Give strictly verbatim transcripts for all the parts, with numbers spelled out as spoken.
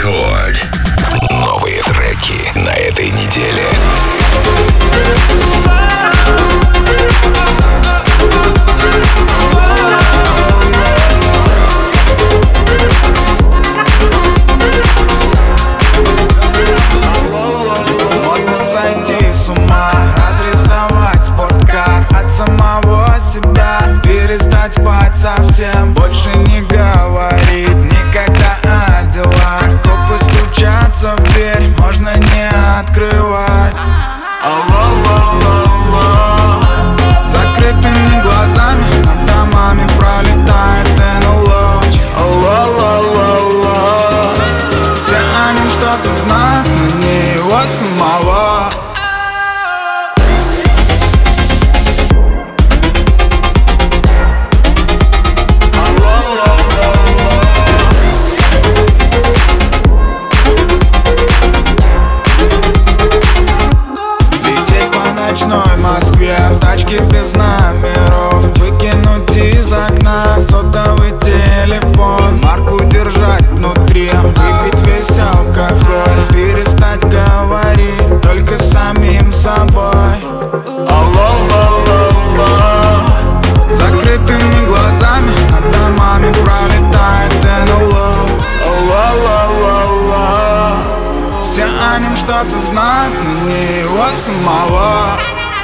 Рекорд. Новые треки на этой неделе. Модно сойти с ума, разрисовать спорткар от самого себя, перестать спать совсем, больше не говорить никогда о делах. Копы стучатся в дверь, можно не открывать. Алло-ло-ло-ло. Закрытыми глазами над домами пролетает эн эл о. Алло-ло-ло-ло. Все о нем что-то знают, но не его самого. Лететь по ночной Москве в тачке без номеров, выкинуть из окна сотовый телефон, марку держать внутри, выпить весь алкоголь, перестать говорить только с самим собой. Алло-ло-ло-ло. Закрытыми глазами над домами пролетает эн эл о. Алло-ло-ло-ло. Все о нем что-то знают, но не его самого.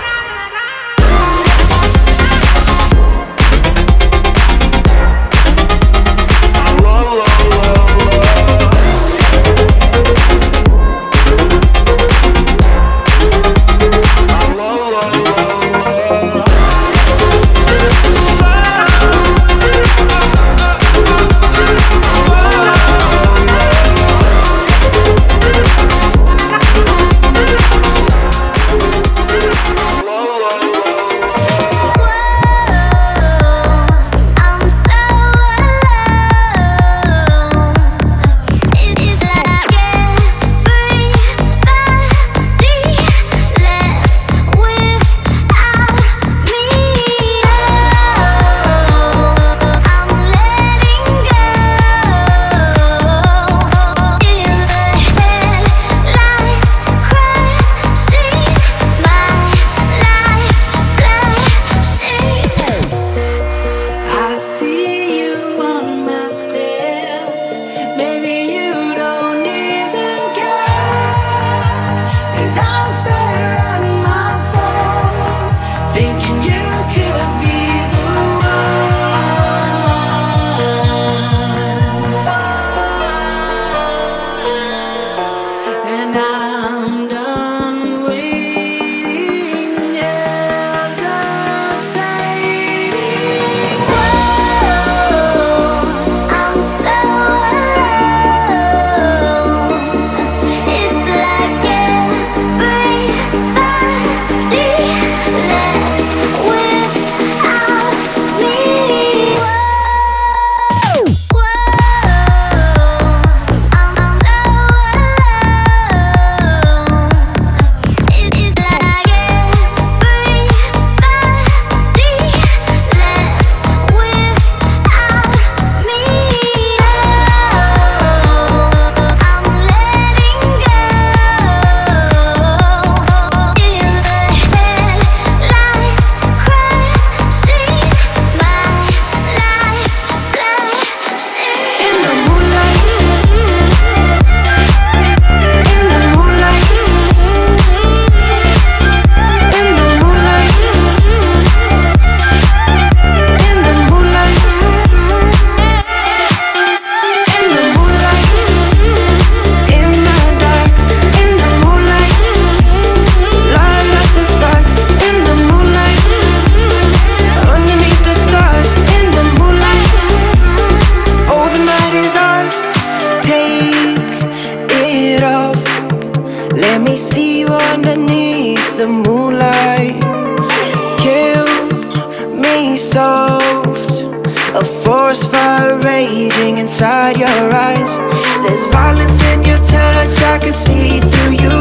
Inside your eyes, there's violence in your touch. I can see through you.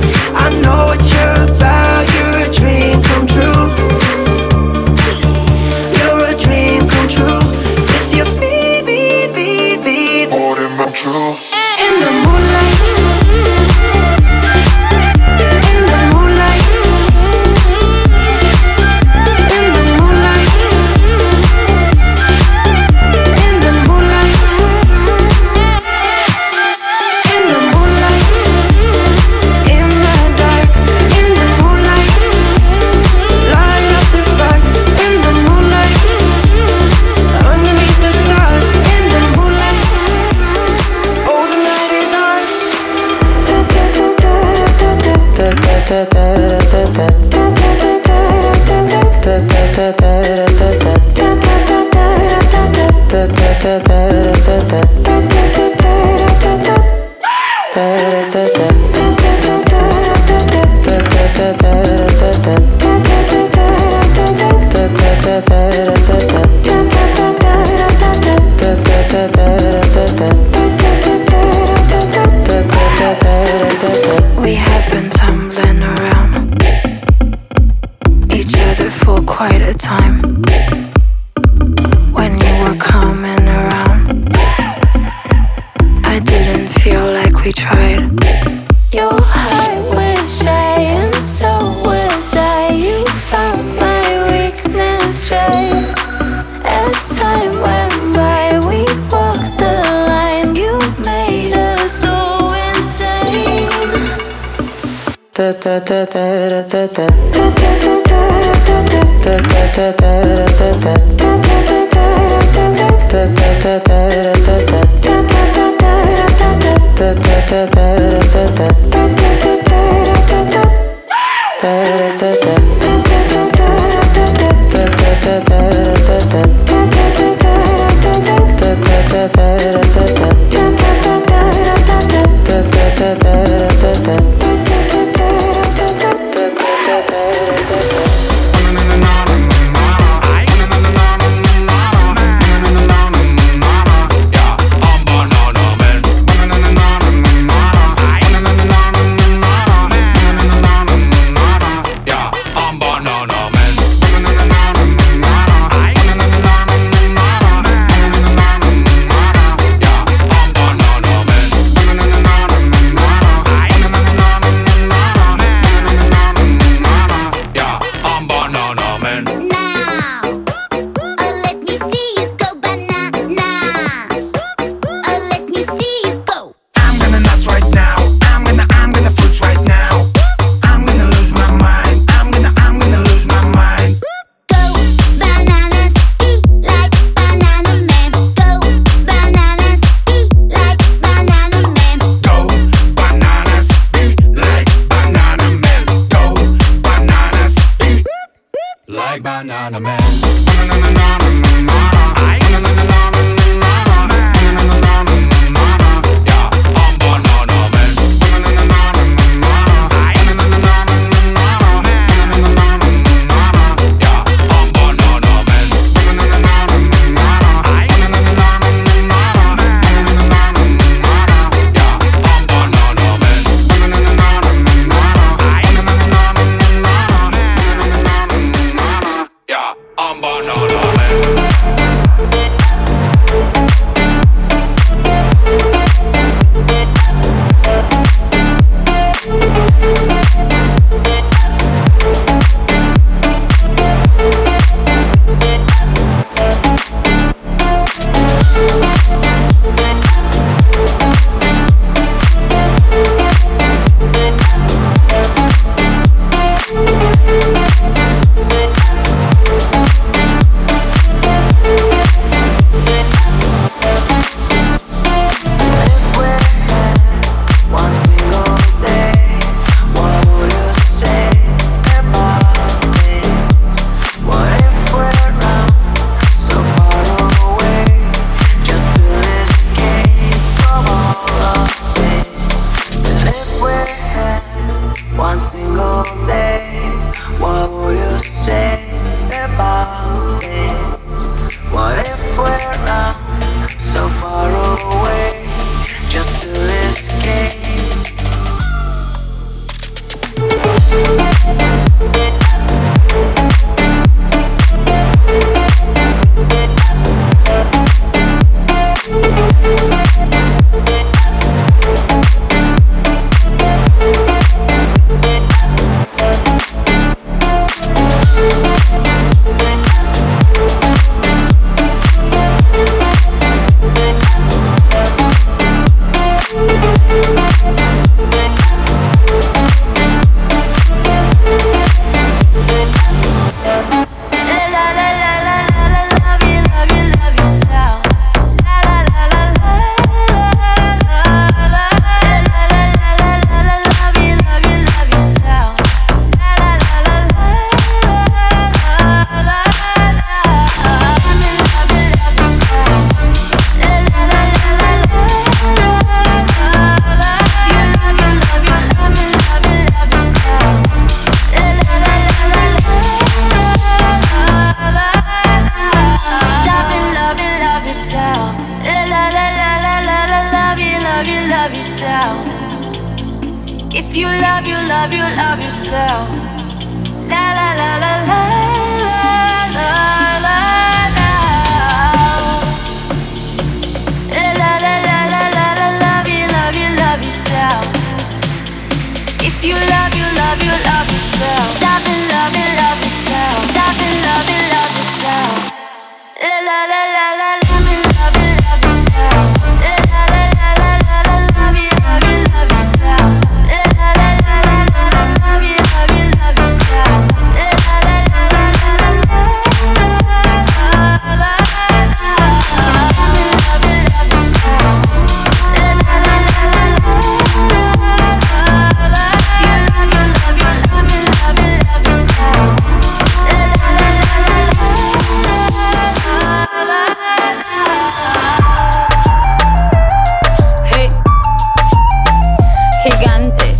I know what you're about. You're a dream come true. You're a dream come true. With your feet, feet, feet, feet. More than my true. In the moonlight. We have been tumbling around each other for quite a time. When you were coming around, I didn't feel like we tried. Your heart was shy and so was I. You found my weakness right. As time went by, we walked the line. You made us go insane. Da da da da da da da da da love you, love yourself. If you love you, love you, love yourself. La la la la la la la la la. La la la la la la la. Love you, love you, love yourself. If you love you, love you, love yourself. Love you, love you, love yourself. Love you, love you, love yourself. La la la la la. Love you, love you, love yourself. La la la la la la la. Love you, love you, love yourself. La la la la la la la. Love you, love you, love yourself. La la la la la la la. La la la la la. Love you, love you, love yourself. La la la la la la. Hey, gigante.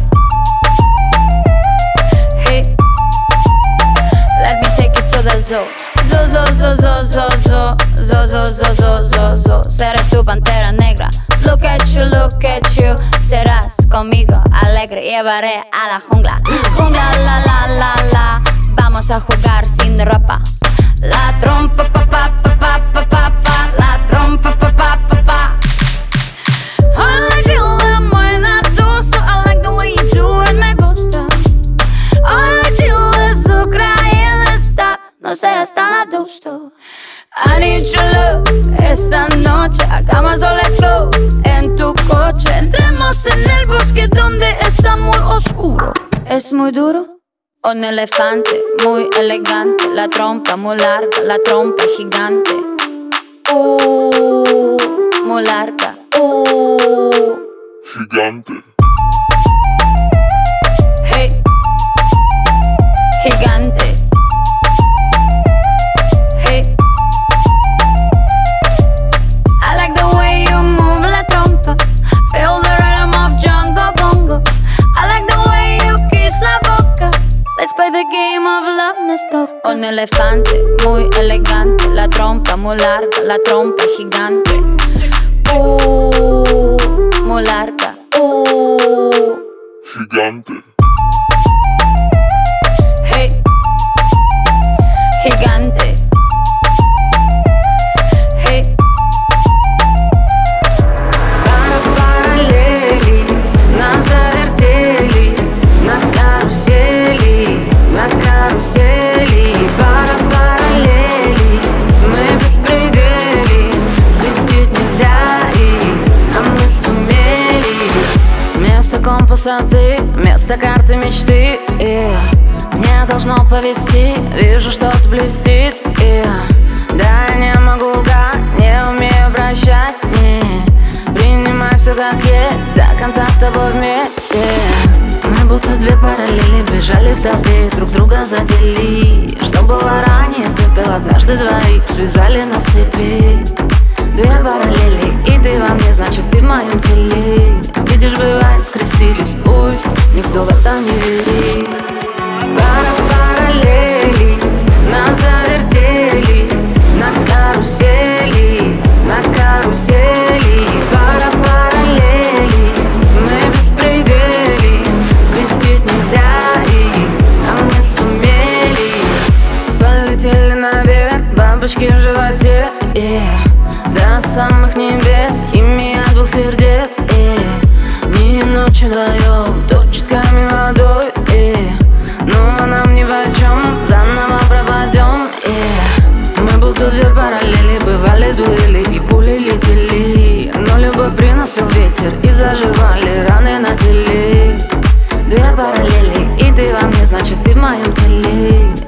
Hey, let me take you to the zoo. Zoo, zoo, zoo, zoo, zoo, zoo, zoo, zoo, zoo, zoo, zoo, zoo. Seré tu pantera negra. Look at you, look at you. Serás conmigo alegre, llevaré a la jungla. Jungla, la, la, la, la. Vamos a jugar sin ropa. La trompa, pa, pa, pa, pa, pa, pa, pa. La trompa, pa, pa, pa, pa. I like the way buena tú, so I like the way you do it, me gusta. I like the way su crayera está, no seas tan adusto. I need your love, esta noche hagamos o let's go. En tu coche, entremos en el bosque donde está muy oscuro. Es muy duro. Un elefante muy elegante, la trompa muy larga, la trompa gigante. Uh, muy larga. Uh, Gigante. hey, gigante. Hey, I like the way you move la trompa. Feel the rhythm of Jungle Bongo. I like the way you kiss la boca. Let's play the game of love, nos toca. Un elefante muy elegante, la trompa muy larga, la trompa gigante. Uh, muy larga. Uh, Gigante. hey, gigante. Hey, Пара параллелей нас завертели на карусели, на карусели. Пара параллелей, мы беспредели, скрестить нельзя их, а мы сумели. Вместо компаса ты, вместо карты мечты, yeah. Мне должно повезти, вижу, что-то блестит, yeah. Да, я не могу лгать, не умею прощать, не. Принимай все как есть, до конца с тобой вместе. Мы будто две параллели бежали в толпе, друг друга задели. Что было ранее, пепел однажды двоих связали на цепи. Две параллели, и ты во мне, значит ты в моем теле. Видишь, бывает, скрестились, пусть никто в это не верит. Пара параллелей нас завертели на карусели, на карусели. Пара параллелей, мы беспредели, скрестить нельзя их, а мы сумели. Полетели наверх, бабочки в животе, yeah. До самых небес, химия двух сердец, yeah. Дни и ночи вдвоем, точками водой, yeah. Но нам ни в чем, заново пропадем, yeah. Мы будто две параллели, бывали дуэли и пули летели. Но любовь приносил ветер и заживали раны на теле. Две параллели, и ты во мне, значит ты в моем теле.